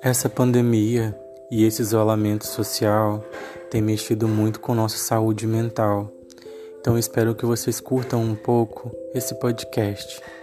Essa pandemia e esse isolamento social tem mexido muito com nossa saúde mental. Então espero que vocês curtam um pouco esse podcast.